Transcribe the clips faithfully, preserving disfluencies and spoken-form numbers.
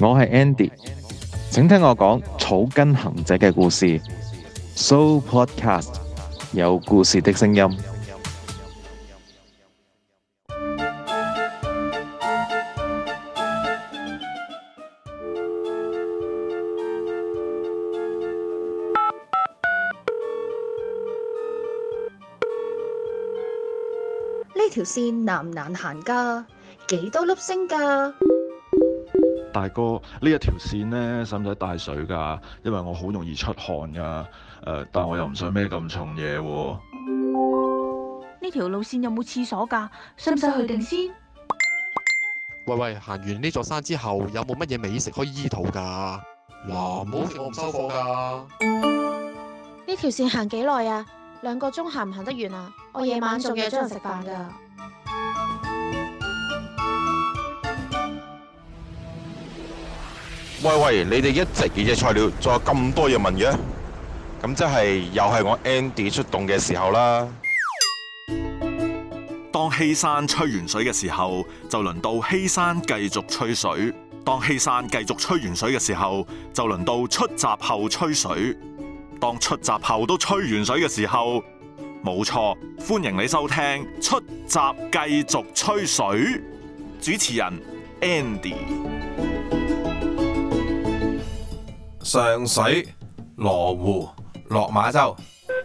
我係 Andy，請聽我講草根行者嘅故事。So Podcast 有故事的聲音。 呢條線難唔難行㗎？幾多粒星㗎？ 大哥，呢一條線呢，使唔使帶水㗎？因為我好容易出汗㗎。誒、呃，但我又唔想孭咁重嘢喎。 呢條路線有冇廁所㗎？使唔使去定先？ 喂喂，行完呢座山之後，有冇乜嘢美食可以醫肚㗎？嗱，唔好食我唔收貨㗎。 呢條線行幾耐啊？兩個鐘行唔行得完啊？我夜晚仲約咗人食飯㗎。 喂喂，你哋一直嘅嘢材料，仲有咁多嘢問嘅，咁即係又係我 Andy 出動嘅時候啦。 當希山吹完水嘅時候，就輪到希山繼續吹水；當希山繼續吹完水嘅時候，就輪到出閘後吹水。當出閘後都吹完水嘅時候，冇錯，歡迎你收聽出閘繼續吹水。主持人 Andy。 上水、羅湖、落馬洲。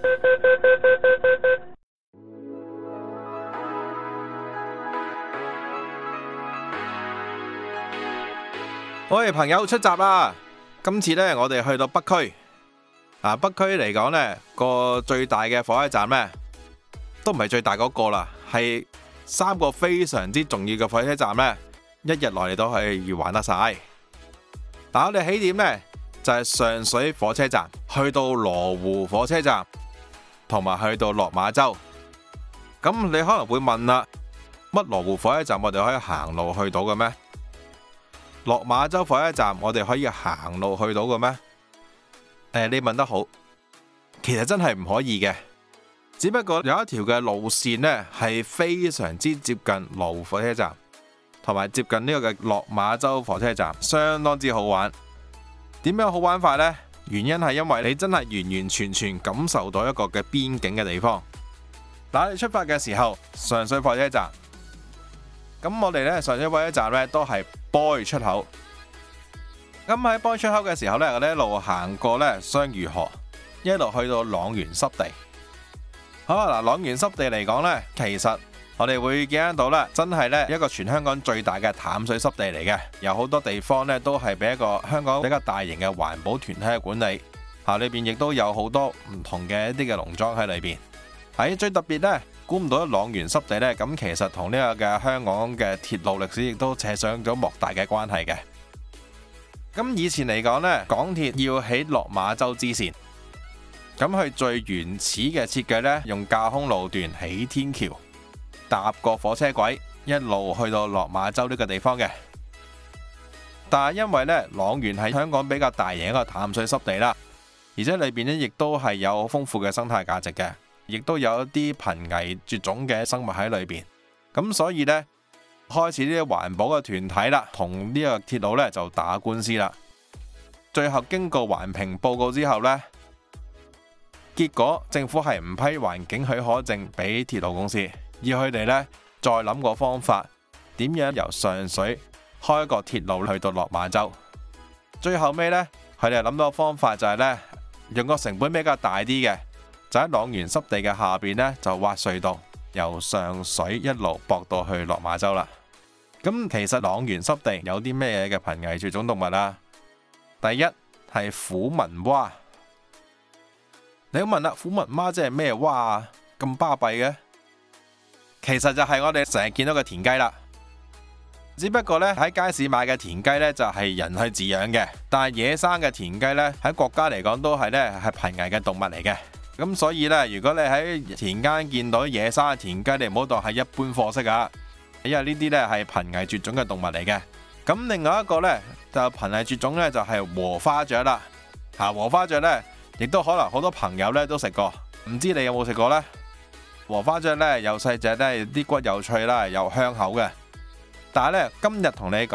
喂，朋友出閘啦！今次呢，我哋去到北區。啊，北區嚟講呢個最大嘅火車站呢，都唔係最大嗰個啦，係三個非常之重要嘅火車站呢，一日內你都可以玩得晒。但我哋起點呢，就係上水火車站，去到羅湖火車站，同埋去到落馬洲。咁你可能會問啦，乜羅湖火車站我哋可以行路去到嘅咩？落馬洲火車站我哋可以行路去到嘅咩？誒，你問得好，其實真係唔可以嘅。只不過有一條嘅路線呢，係非常之接近羅湖火車站，同埋接近呢個嘅落馬洲火車站，相當之好玩。點樣好玩法呢？原因係因為你真係完完全全感受到一個嘅邊境嘅地方。嗱，你出發嘅時候，上水火車站，咁我哋呢，上水火車站呢，都係 boy 出口。咁喺 boy 出口嘅時候呢，我哋一路行過呢雙魚河，一路去到塱原濕地。好啊，嗱，塱原濕地嚟講呢，其實我哋會見得到呢，真係呢一個全香港最大嘅淡水濕地嚟嘅，有好多地方呢都係俾一個香港比較大型嘅環保團體嘅管理。吓，裏邊亦都有好多唔同嘅一啲嘅農莊喺裏邊。喺最特別呢，估唔到塱原濕地呢，咁其實同呢個嘅香港嘅鐵路歷史亦都扯上咗莫大嘅關係嘅。咁以前嚟講呢，港鐵要起落馬洲支線，咁佢最原始嘅設計呢，用架空路段起天橋，搭個火車軌一路去到落馬洲呢個地方嘅。但係因為呢，塱原係香港比較大型一個淡水濕地啦，而且裏邊呢亦都係有豐富嘅生態價值嘅，亦都有一啲瀕危絕種嘅生物喺裏邊。咁所以呢，開始呢啲環保嘅團體啦，同呢個鐵路呢就打官司啦。最後經過環評報告之後呢，結果政府係唔批環境許可證俾鐵路公司，要佢哋呢再諗個方法，點樣由上水開個鐵路去到落馬洲。最後尾呢，佢哋諗到個方法就係呢，用個成本比較大啲嘅，就喺塱原濕地嘅下邊呢，就挖隧道，由上水一路駁到去落馬洲啦。咁其實塱原濕地有啲咩嘅瀕危絕種動物啊？第一係虎紋蛙。你問啦，虎紋蛙即係咩蛙啊？咁巴閉嘅？其實就係我哋成日見到嘅田雞啦。只不過呢，喺街市買嘅田雞呢，就係人去飼養嘅，但係野生嘅田雞呢，喺國家嚟講都係呢係瀕危嘅動物嚟嘅。咁所以呢，如果你喺田間見到野生嘅田雞，你唔好當係一般貨色啊，因為呢啲呢係瀕危絕種嘅動物嚟嘅。咁另外一個呢，就瀕危絕種呢，就係禾花雀啦。吓，禾花雀呢，亦都可能好多朋友呢都食過，唔知你有冇食過呢？禾花雀呢，又細隻呢，啲骨又脆啦，又香口嘅。但係呢，今日同你講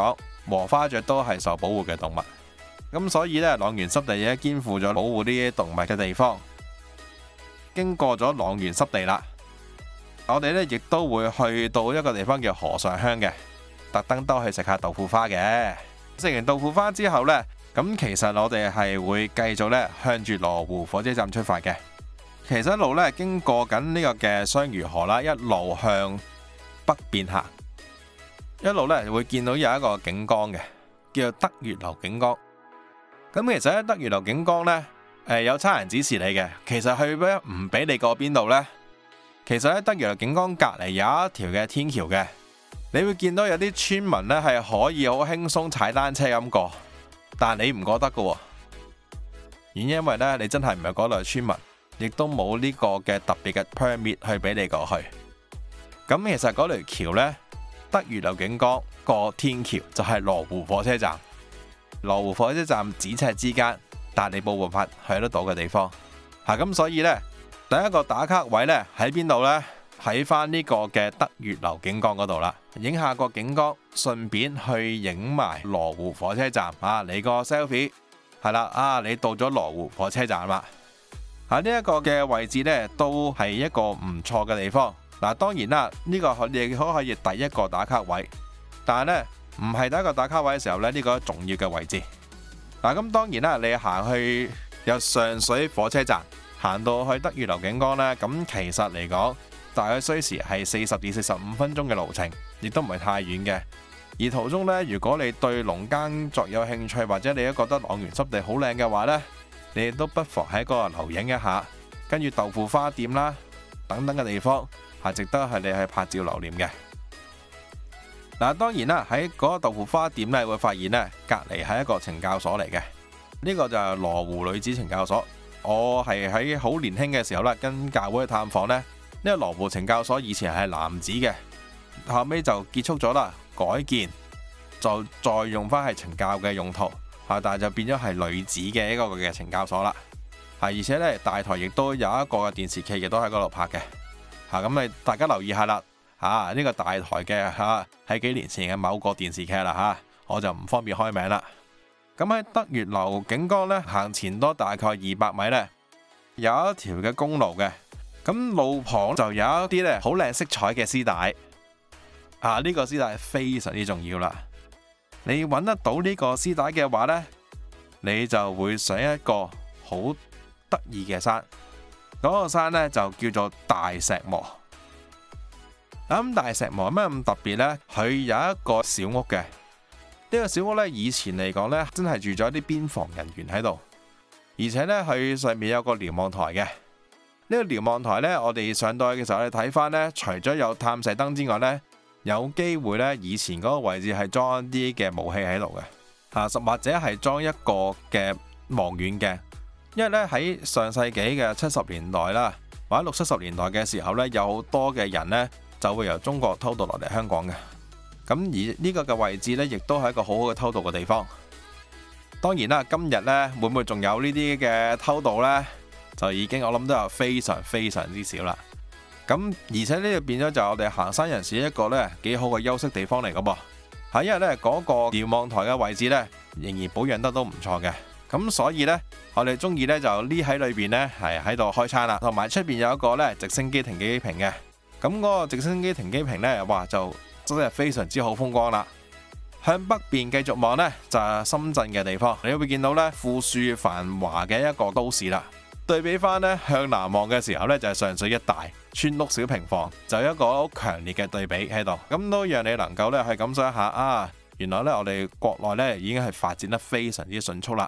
禾花雀都係受保護嘅動物。咁所以呢，塱原濕地咧肩負咗保護呢啲動物嘅地方。經過咗塱原濕地啦，我哋呢亦都會去到一個地方叫河上鄉嘅，特登都去食下豆腐花嘅。食完豆腐花之後呢，咁其實我哋係會繼續呢向住羅湖火車站出發嘅。其實一路呢經過緊呢個嘅雙魚河啦，一路向北邊行，一路呢會見到有一個景江嘅，叫做德月樓景江。咁其實喺德月樓景江呢，誒有差人指示你嘅，其實去咩唔俾你過邊度呢？其實喺德月樓景江隔離有一條嘅天橋嘅，你會見到有啲村民呢係可以好輕鬆踩單車咁過，但你唔覺得㗎喎。原因因為呢，你真係唔係嗰度嘅村民，亦都冇呢個嘅特別嘅 permit 去俾你過去。咁其實嗰條橋呢，德月樓景江過天橋就係羅湖火車站。羅湖火車站咫尺之間，但你冇辦法去得到嘅地方。吓、啊、咁所以呢，第一個打卡位呢喺邊度呢？喺翻呢個嘅德月樓景江嗰度啦，影下個景江，順便去影埋羅湖火車站啊！你個 selfie 係啦啊！你到咗羅湖火車站啦。喺呢一個嘅位置呢，都係一個唔錯嘅地方。嗱、啊，當然啦，呢、這個你可可以第一個打卡位，但係呢，唔係第一個打卡位嘅時候呢，呢、這個重要嘅位置。嗱、啊，咁當然啦，你行去由上水火車站行到去德月樓景江呢，咁其實嚟講，大概需時係四十至四十五分鐘嘅路程，亦都唔係太遠嘅。而途中呢，如果你對農耕作有興趣，或者你都覺得塱原濕地好靚嘅話呢，你都不妨喺嗰度留影一下，跟住豆腐花店啦等等嘅地方係值得係你去拍照留念嘅。嗱，當然啦，喺嗰個豆腐花店咧，會發現呢隔離係一個懲教所嚟嘅。呢個就係羅湖女子懲教所。我係喺好年輕嘅時候啦，跟教會去探訪呢。呢個羅湖懲教所以前係男子嘅，後尾就結束咗啦，改建就再用翻係懲教嘅用途，嚇，但係就變咗係女子嘅一個嘅懲教所啦。嚇，而且呢，大台亦都有一個嘅電視劇，亦都喺嗰度拍嘅。嚇，咁你大家留意下啦。嚇、啊，呢、這個大台嘅嚇喺幾年前嘅某個電視劇啦嚇、啊，我就唔方便開名啦。咁喺德月樓景江呢，行前多大概二百米呢，有一條嘅公路嘅。咁路旁就有一啲咧好靚色彩嘅絲帶。啊，呢、這個絲帶非常之重要啦。你揾得到呢個絲帶嘅話呢，你就會上一個好得意嘅山。嗰、那個山呢，就叫做大石磨。咁大石磨有咩咁特別呢？佢有一個小屋嘅，呢、這個小屋呢，以前嚟講呢，真係住咗啲邊防人員喺度，而且呢，佢上面有個瞭望台嘅。呢、這個瞭望台呢，我哋上到去嘅時候，你睇翻呢，除咗有探射燈之外呢，有機會呢，以前嗰個位置係裝一啲嘅武器喺度嘅，啊，或者係裝一個嘅望遠鏡，因為呢，喺上世紀嘅七十年代啦，或者六七十年代嘅時候呢，有好多嘅人呢，就會由中國偷渡落嚟香港嘅。咁而呢個嘅位置呢，亦都係一個好好嘅偷渡嘅地方。當然啦，今日呢，會唔會仲有呢啲嘅偷渡呢？就已經我諗都有非常非常之少啦。咁而且呢度變咗就我哋行山人士一個呢幾好嘅休息地方嚟噶噃。係因為呢嗰個瞭望台嘅位置呢，仍然保養得都唔錯嘅。咁所以呢，我哋中意呢就匿喺裏邊呢，係喺度開餐啦。同埋出邊有一個呢直升機停機坪嘅。咁嗰個直升機停機坪呢，哇就真係非常之好風光啦。向北邊繼續望呢，就係深圳嘅地方，你會見到呢富庶繁華嘅一個都市啦。對比翻呢，向南望嘅時候呢，就係上水一帶村屋小平房，就有一個好強烈嘅對比喺度。咁都讓你能夠呢去感受一下啊，原來呢，我哋國內呢已經係發展得非常之迅速啦。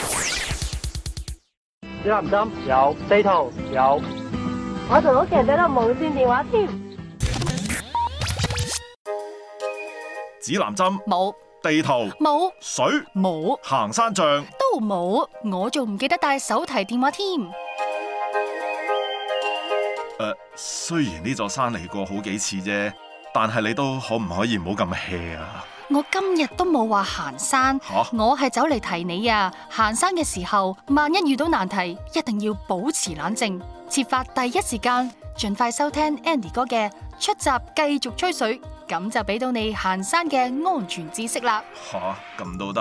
指南針有，地圖有。 我同屋企人都有無線電話添。 指南針冇， 地圖冇， 水冇， 行山杖都冇，我仲唔記得帶手提電話添。誒、 呃，雖然呢座山嚟過好幾次啫，但係你都可唔可以唔好咁 hea 啊？ 我今日都冇話行山， 啊、我係走嚟提你啊！行山嘅時候，萬一遇到難題，一定要保持冷靜，設法第一時間盡快收聽 Andy 哥嘅出閘繼續吹水， 咁就俾到你行山嘅安全知識啦。 吓，咁都得？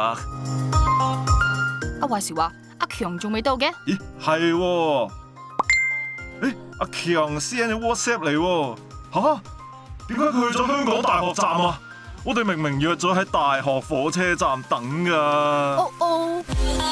阿話時話，阿強仲未到嘅？ 咦，係喎？誒，阿強 send 咗 WhatsApp 嚟喎。吓？點解佢去咗香港大學站啊？我哋明明約咗喺大學火車站等噶。 哦哦。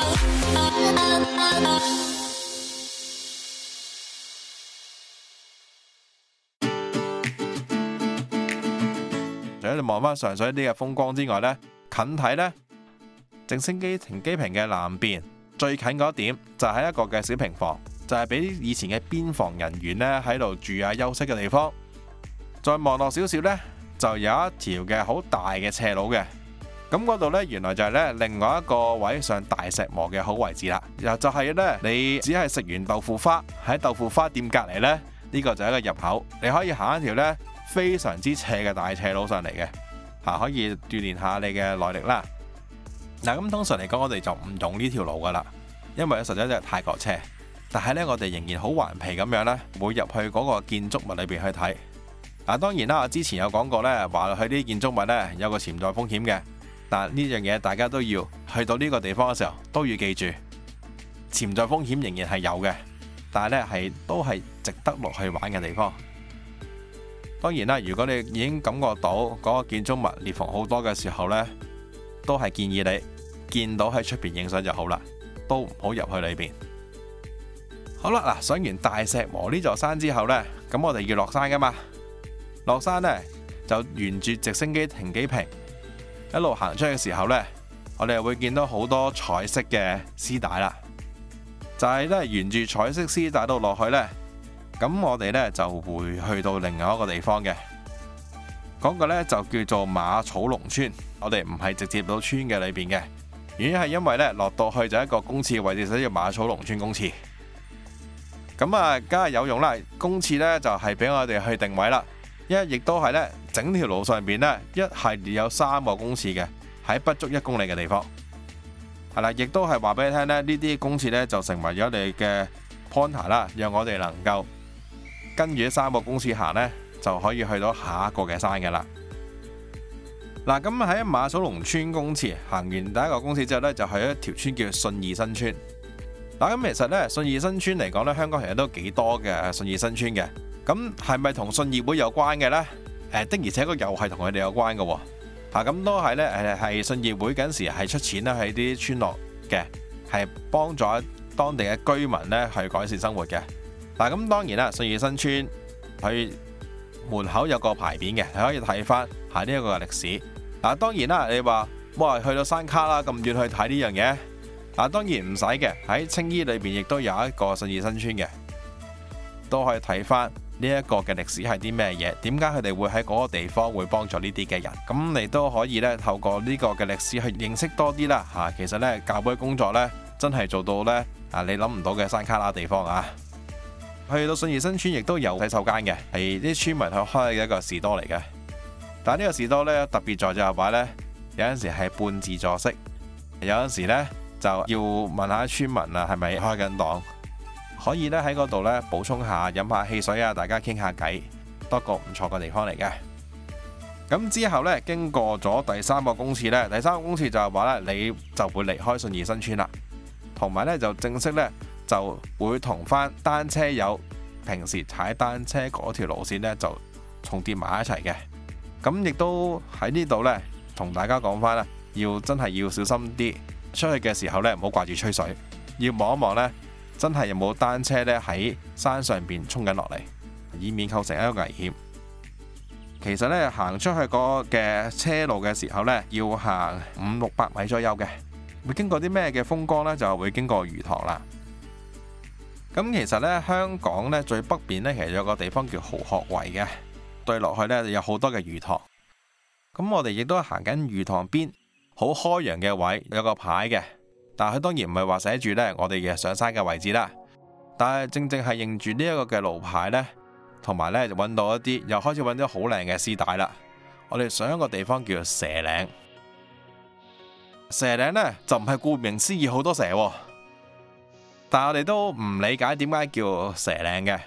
除咗你望翻上水啲嘅風光之外呢，近睇呢，直升機停機坪嘅南邊最近嗰點就係一個嘅小平房，就係俾以前嘅邊防人員呢喺度住啊休息嘅地方。再望落少少呢，就有一條嘅好大嘅斜路嘅，咁嗰度呢，原來就係呢另外一個位上大石磨嘅好位置啦。又就係呢，你只係食完豆腐花喺豆腐花店隔離呢，呢個就係一個入口，你可以行一條呢非常之斜嘅大斜路上嚟嘅，嚇可以鍛鍊下你嘅耐力啦。嗱，咁通常嚟講，我哋就唔用呢條路噶啦，因為實在真係太過斜。但係呢，我哋仍然好頑皮咁樣呢，會入去嗰個建築物裏邊去睇。嗱，當然啦，我之前有講過呢，話去啲建築物呢有個潛在風險嘅，但呢樣嘢大家都要去到呢個地方嘅時候都要記住，潛在風險仍然係有嘅，但係呢係都係值得落去玩嘅地方。當然啦，如果你已經感覺到嗰個建築物裂縫好多嘅時候呢，都係建議你見到喺出邊影相就好啦，都唔好入去裏邊。好啦，嗱，上完大石磨呢座山之後呢，咁我哋要落山噶嘛。落山呢，就沿住直升機停機坪一路行出去嘅時候呢，我哋會見到好多彩色嘅絲帶啦。就係呢，沿住彩色絲帶度落去呢，咁我哋呢就會去到另外一個地方嘅，嗰個呢就叫做馬草龍村。我哋唔係直接到村嘅裏邊嘅，原因係因為呢落到去就一個公廁位置，寫住馬草龍村公廁。咁啊，梗係有用啦。公廁呢就係俾我哋去定位啦。一亦都係咧，整條路上邊呢，一系列有三個公廁嘅，喺不足一公里嘅地方，係啦，亦都係話俾你聽呢，呢啲公廁呢就成為咗你嘅 pointer 啦，讓我哋能夠跟住三個公廁行呢，就可以去到下一個嘅山嘅啦。嗱，咁喺馬草龍村公廁行完第一個公廁之後呢，就去一條村叫信義新村。嗱，咁其實呢，信義新村嚟講呢，香港其實都幾多嘅信義新村嘅。咁係咪同信義會有關嘅呢？誒，的而且確又係同佢哋有關嘅喎。嚇，咁都係呢，誒係信義會嗰陣時係出錢咧喺啲村落嘅，係幫助當地嘅居民呢去改善生活嘅。嗱，咁當然啦，信義新村佢門口有個牌匾嘅，係可以睇翻係呢一個嘅歷史。嗱，當然啦，你話哇去到山卡啦咁遠去睇呢樣嘢，嗱當然唔使嘅，喺青衣裏邊亦都有一個信義新村嘅，都可以睇翻。呢一個嘅歷史係啲咩嘢？點解佢哋會喺嗰個地方會幫助呢啲嘅人？咁你都可以咧透過呢個嘅歷史去認識多啲啦嚇。其實呢，教會工作呢真係做到呢，啊你諗唔到嘅山卡拉地方啊！去到信義新村亦都有洗手間嘅，係啲村民去開嘅一個士多嚟嘅。但係呢個士多呢，特別在就係話呢，有陣時係半自助式，有陣時呢就要問下村民啊係咪開緊檔。可以咧喺嗰度咧補充下，飲下汽水啊，大家傾下偈，多個唔錯嘅地方嚟嘅。咁之後咧，經過咗第三個公廁咧，第三個公廁就係話咧，你就會離開信義新村啦，同埋咧就正式咧就會同翻單車友平時踩單車嗰條路線咧就重疊埋一齊嘅。咁亦都喺呢度咧同大家講翻啦，要真係要小心啲，出去嘅時候咧唔好掛住吹水，要望一望咧。真係有冇單車咧喺山上邊衝緊落嚟，以免構成一個危險。其實咧行出去嗰嘅車路嘅時候咧，要行五六百米左右嘅，會經過啲咩嘅風光呢？就會經過魚塘啦。咁其實咧香港咧最北邊咧其實有個地方叫蠔殼圍嘅，對落去咧有好多嘅魚塘。咁我哋亦都行緊魚塘邊好開揚嘅位，有個牌嘅。但係佢當然唔係話寫住呢我哋嘅上山嘅位置啦，但係正正係認住呢一個嘅路牌呢，同埋呢就揾到一啲，又開始揾到好靚嘅絲帶啦。我哋上一個地方叫做蛇嶺，蛇嶺呢就唔係顧名思義好多蛇，但係我哋都唔理解點解叫蛇嶺嘅，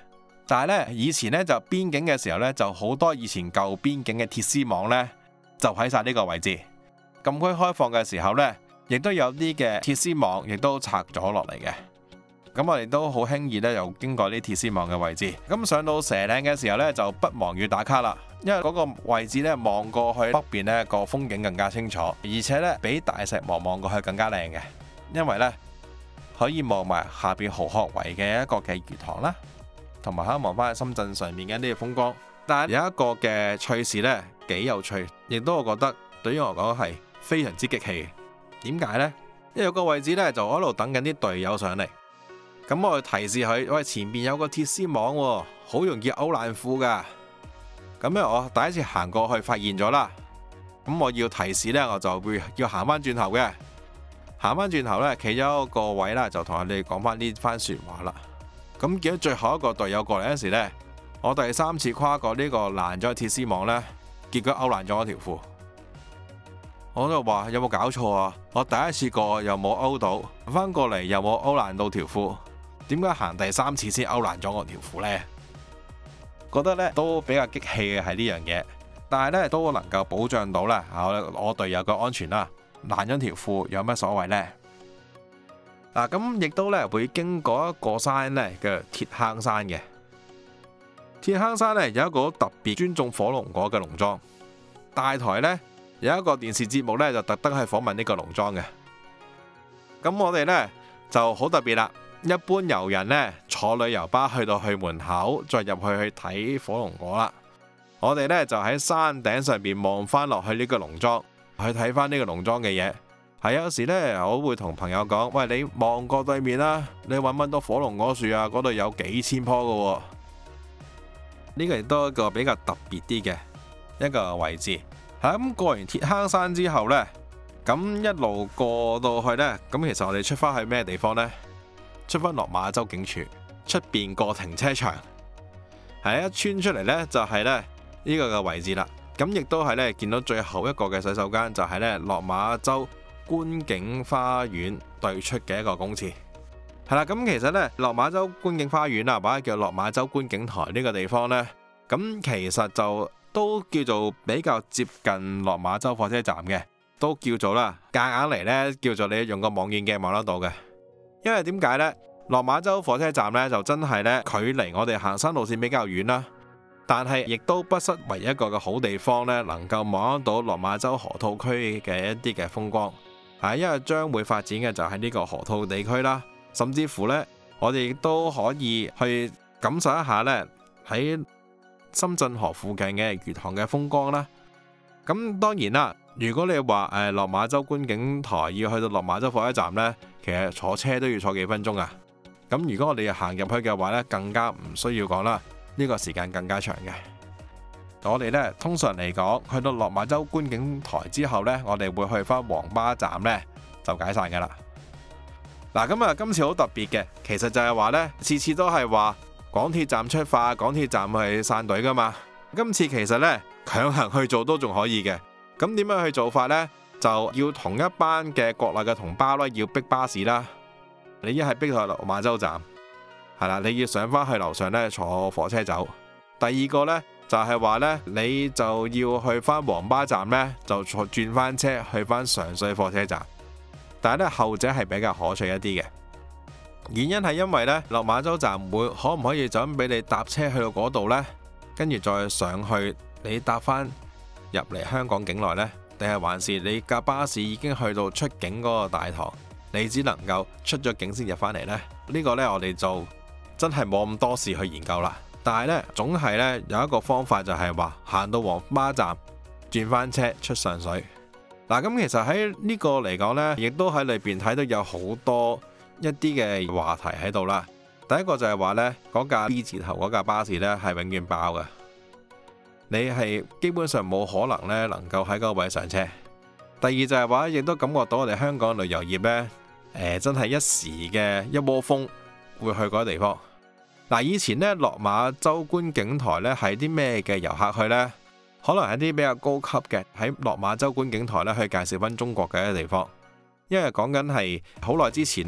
但係呢，以前呢，就邊境嘅時候呢，就好多以前舊邊境嘅鐵絲網呢，就喺晒呢個位置。禁區開放嘅時候呢，亦都有啲嘅鐵絲網亦都拆咗落嚟嘅。咁我哋都好輕易呢，又經過呢鐵絲網嘅位置。咁上到蛇嶺嘅時候呢，就不忘要打卡啦，因為嗰個位置呢，望過去北邊呢個風景更加清楚，而且呢，比大石磨望過去更加靚嘅，因為呢，可以望埋下邊蠔殼圍嘅一個嘅魚塘啦。同埋可以望翻喺深圳上面嘅呢個風光，但係有一個嘅趣事呢，幾有趣，亦都我覺得對於我講係非常之激氣。點解呢？因為有個位置呢，就喺度等緊啲隊友上嚟，咁我提示佢：喂，前面有個鐵絲網喎，好容易勾爛褲噶。咁咧，我第一次行過去發現咗啦，咁我要提示呢，我就會要行翻轉頭嘅，行翻轉頭呢，企咗個位啦，就同佢哋講翻呢番説話啦。咁見到最後一個隊友過嚟嗰時呢，我第三次跨過呢個爛咗嘅鐵絲網呢，結果勾爛咗我條褲。我就話有冇搞錯啊？我第一次過又冇勾到，翻過嚟又冇勾爛到條褲，點解行第三次先勾爛咗我條褲呢？覺得呢都比較激氣嘅係呢樣嘢，但係呢都能夠保障到啦我我隊友嘅安全啦。爛咗條褲有乜所謂呢？嗱，咁亦都咧會經過一個山咧嘅鐵坑山嘅。鐵坑山咧有一個特別尊重火龍果嘅農莊，大台咧有一個電視節目咧就特登去訪問呢個農莊嘅。咁我哋咧就好特別啦，一般遊人咧坐旅遊巴去到去門口，再入去去睇火龍果啦。我哋咧就喺山頂上邊望翻落去呢個農莊，去睇翻呢個農莊嘅嘢。係有時呢，我會同朋友講：喂，你望過對面啦，你揾唔揾到火龍果樹啊？嗰度有幾千棵㗎。呢個亦都係一個比較特別啲嘅一個位置。係咁過完鐵坑山之後呢，咁一路過到去呢，咁其實我哋出翻去咩地方呢？出翻落馬洲警署出邊個停車場，係一穿出嚟呢，就係呢呢個嘅位置啦。咁亦都係呢，見到最後一個嘅洗手間，就係呢落馬洲觀景花園對出嘅一個公廁，係啦。咁其實呢，落馬洲觀景花園啊，或者叫落馬洲觀景台呢個地方呢，咁其實就都叫做比較接近落馬洲火車站嘅，都叫做啦，夾硬嚟呢，叫做你用個望遠鏡望得到嘅。因為點解呢？落馬洲火車站呢，就真係呢，距離我哋行山路線比較遠啦，但係亦都不失為一個嘅好地方呢，能夠望得到落馬洲河套區嘅一啲嘅風光。係，因為將會發展嘅就係呢個河套地區啦，甚至乎呢，我哋亦都可以去感受一下呢喺深圳河附近嘅魚塘嘅風光啦。咁當然啦，如果你話誒落馬洲觀景台要去到落馬洲火車站呢，其實坐車都要坐幾分鐘啊。咁如果我哋行入去嘅話呢，更加唔需要講啦，呢個時間更加長嘅。我哋呢，通常嚟講，去到落馬洲觀景台之後呢，我哋會去翻黃巴站呢，就解散噶啦。嗱，咁啊，今次好特別嘅，其實就係話呢，次次都係話港鐵站出發，港鐵站去散隊噶嘛。今次其實呢，強行去做都仲可以嘅。咁點樣去做法呢？就要同一班嘅國內嘅同胞啦，要逼巴士啦。你一係逼去落馬洲站，係啦，你要上翻去樓上呢，坐火車走。第二個呢，就係話呢，你就要去翻黃巴站呢，就坐轉翻車去翻上水火車站。但係呢，後者係比較可取一啲嘅，原因係因為呢，落馬洲站會可唔可以就咁俾你搭車去到嗰度呢？跟住再上去，你搭翻入嚟香港境內呢？定係還是你架巴士已經去到出境嗰個大堂，你只能夠出咗境先入翻嚟呢？呢個呢，我哋就真係冇咁多事去研究啦。但係呢，總係呢，有一個方法就係話行到黃巴站轉翻車出上水。嗱，咁其實喺呢個嚟講呢，亦都喺裏邊睇到有好多一啲嘅話題喺度啦。第一個就係話呢，嗰架 B 字頭嗰架巴士呢係永遠爆嘅，你係基本上冇可能呢能夠喺嗰個位上車。第二就係話，亦都感覺到我哋香港旅遊業呢，誒、呃、真係一時嘅一窩蜂會去嗰個地方。嗱，以前呢，落馬洲觀景台呢係啲咩嘅遊客去呢？可能係啲比較高級嘅，喺落馬洲觀景台呢去介紹翻中國嘅一個地方。因為講緊係好耐之前呢，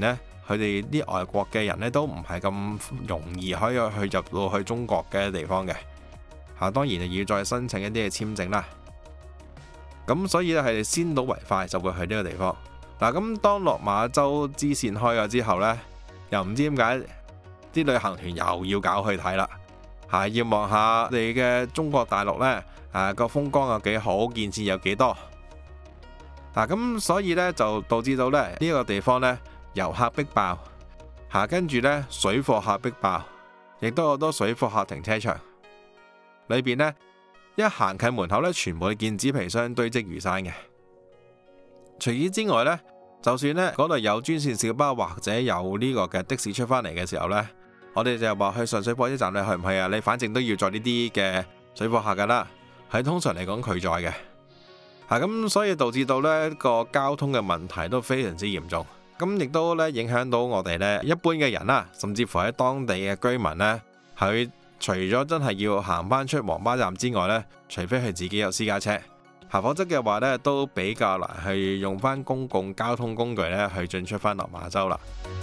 佢哋啲外國嘅人呢都唔係咁容易可以去入到去中國嘅地方嘅。嚇，當然要再申請一啲嘅簽證啦。咁所以咧係先睹為快，就會去呢個地方。嗱，咁當落馬洲支線開咗之後呢，又唔知點解啲旅行團又要搞去睇啦。嚇，要望下你嘅中國大陸呢，誒個風光有幾好，建設有幾多。嗱，咁所以呢，就導致到咧呢個地方呢，遊客逼爆，嚇，跟住呢，水貨客逼爆，亦都有好多水貨客停車場。裏邊呢，一行近門口呢，全部見紙皮箱堆積如山嘅。除此之外呢，就算呢嗰度有專線小巴或者有呢個嘅的士出返嚟嘅時候呢，我哋就話去上水火車站，你去唔去啊？你反正都要載呢啲嘅水貨客噶啦，係通常嚟講拒載嘅。嚇，咁所以導致到呢個交通嘅問題都非常之嚴重。咁亦都呢影響到我哋呢一般嘅人啦，甚至乎喺當地嘅居民呢，佢除咗真係要行返出黃巴站之外呢，除非佢自己有私家車，嚇，否則嘅話呢都比較難去用返公共交通工具呢去進出返落馬洲啦。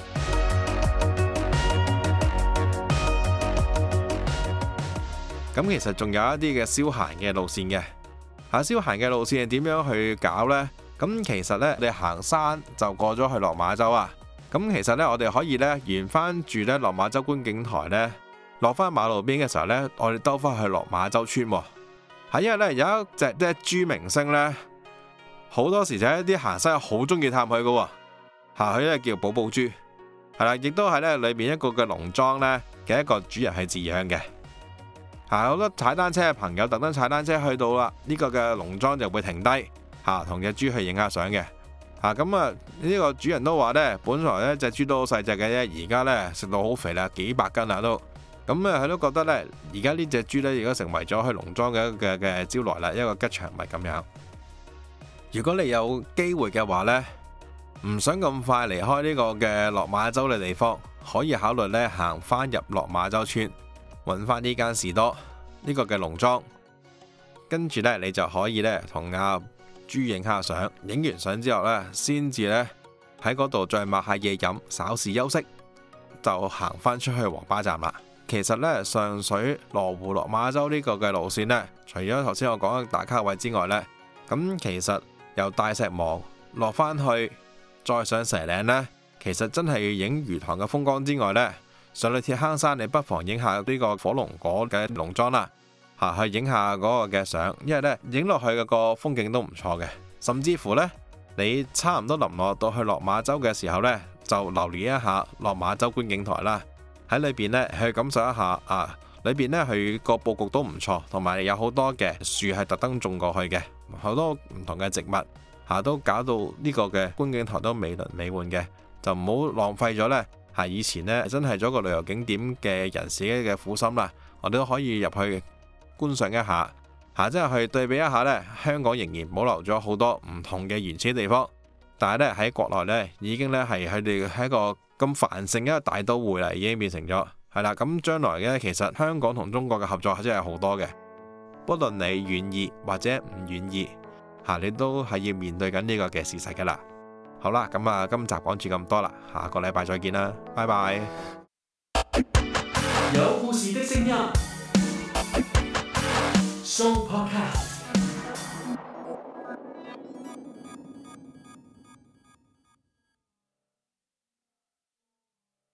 咁其實仲有一啲嘅消閒嘅路線嘅，嚇，消閒嘅路線係點樣去搞呢？咁其實呢，你行山就過咗去落馬洲啊。咁其實呢，我哋可以呢沿翻住呢落馬洲觀景台呢，落翻馬路邊嘅時候呢，我哋兜翻去落馬洲村喎。係因為呢，有一隻隻豬明星呢，好多時就係一啲行山好中意探佢嘅喎。嚇，佢呢叫寶寶豬，係啦，亦都係呢裏面一個嘅農莊呢嘅一個主人係飼養嘅。嚇，好多踩單車嘅朋友特登踩單車去到啦，呢個嘅農莊就會停低嚇，同隻豬去影下相嘅。嚇，咁啊呢個主人都話呢，本來呢隻豬都好細隻嘅啫，而家呢食到好肥啦，幾百斤啦都。咁啊佢都覺得呢，而家呢隻豬呢，而家成為咗去農莊嘅嘅嘅招來啦，一個吉祥物咁樣。如果你有機會嘅話呢，唔想咁快離開呢個嘅落馬洲嘅地方，可以考慮呢行翻入落馬洲村，揾翻呢間士多呢個嘅農莊，跟住呢，你就可以呢同阿豬影下相，影完相之後呢，先至呢喺嗰度再買下嘢飲，稍事休息，就行返出去黃巴站啦。其實呢，上水羅湖落馬洲呢個嘅路線呢，除咗頭先我講嘅打卡位之外呢，咁其實由大石磨落返去，再上蛇嶺呢，其實真係要影魚塘嘅風光之外呢，上去鐵坑山，你不妨影下呢個火龍果嘅農莊啦，嚇，去影下嗰個嘅相，因為呢影落去嘅個風景都唔錯嘅。甚至乎呢，你差唔多臨落到去落馬洲嘅時候呢，就留意一下落馬洲觀景台啦。喺裏邊呢，去感受一下啊，裏邊呢，佢個佈局都唔錯，同埋有好多嘅樹係特登種過去嘅，好多唔同嘅植物嚇，都搞到呢個嘅觀景台都美輪美奐嘅，就唔好浪費咗呢。係以前呢，真係做一個旅遊景點嘅人士嘅苦心啦，我哋都可以入去觀賞一下，嚇，即係去對比一下呢，香港仍然保留咗好多唔同嘅原始地方，但係呢，喺國內呢，已經呢係佢哋係一個咁繁盛一個大都會啦，已經變成咗係啦。咁將來嘅其實香港同中國嘅合作真係好多嘅，不論你願意或者唔願意嚇，你都係要面對緊呢個嘅事實㗎啦。好啦，咁啊，今集講住咁多啦，下個禮拜再見啦，拜拜。 有故事的聲音 ，Show Podcast。